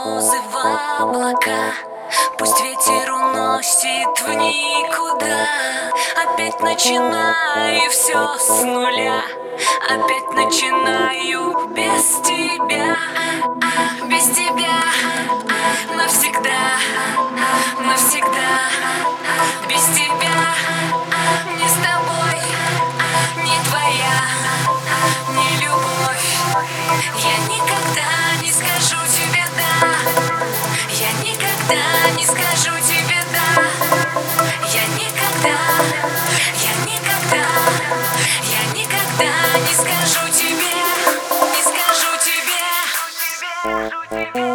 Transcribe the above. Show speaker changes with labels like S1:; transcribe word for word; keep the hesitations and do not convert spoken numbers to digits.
S1: слезы в облака. Пусть ветер уносит в никуда. Опять начинаю все с нуля. Опять начинаю без тебя. Без тебя навсегда, навсегда. Без тебя не с тобой, не твоя, не любовь. Я никогда не скажу тебе да. Я никогда не скажу тебе да. Я никогда, я никогда, я никогда не скажу тебе, не скажу тебе.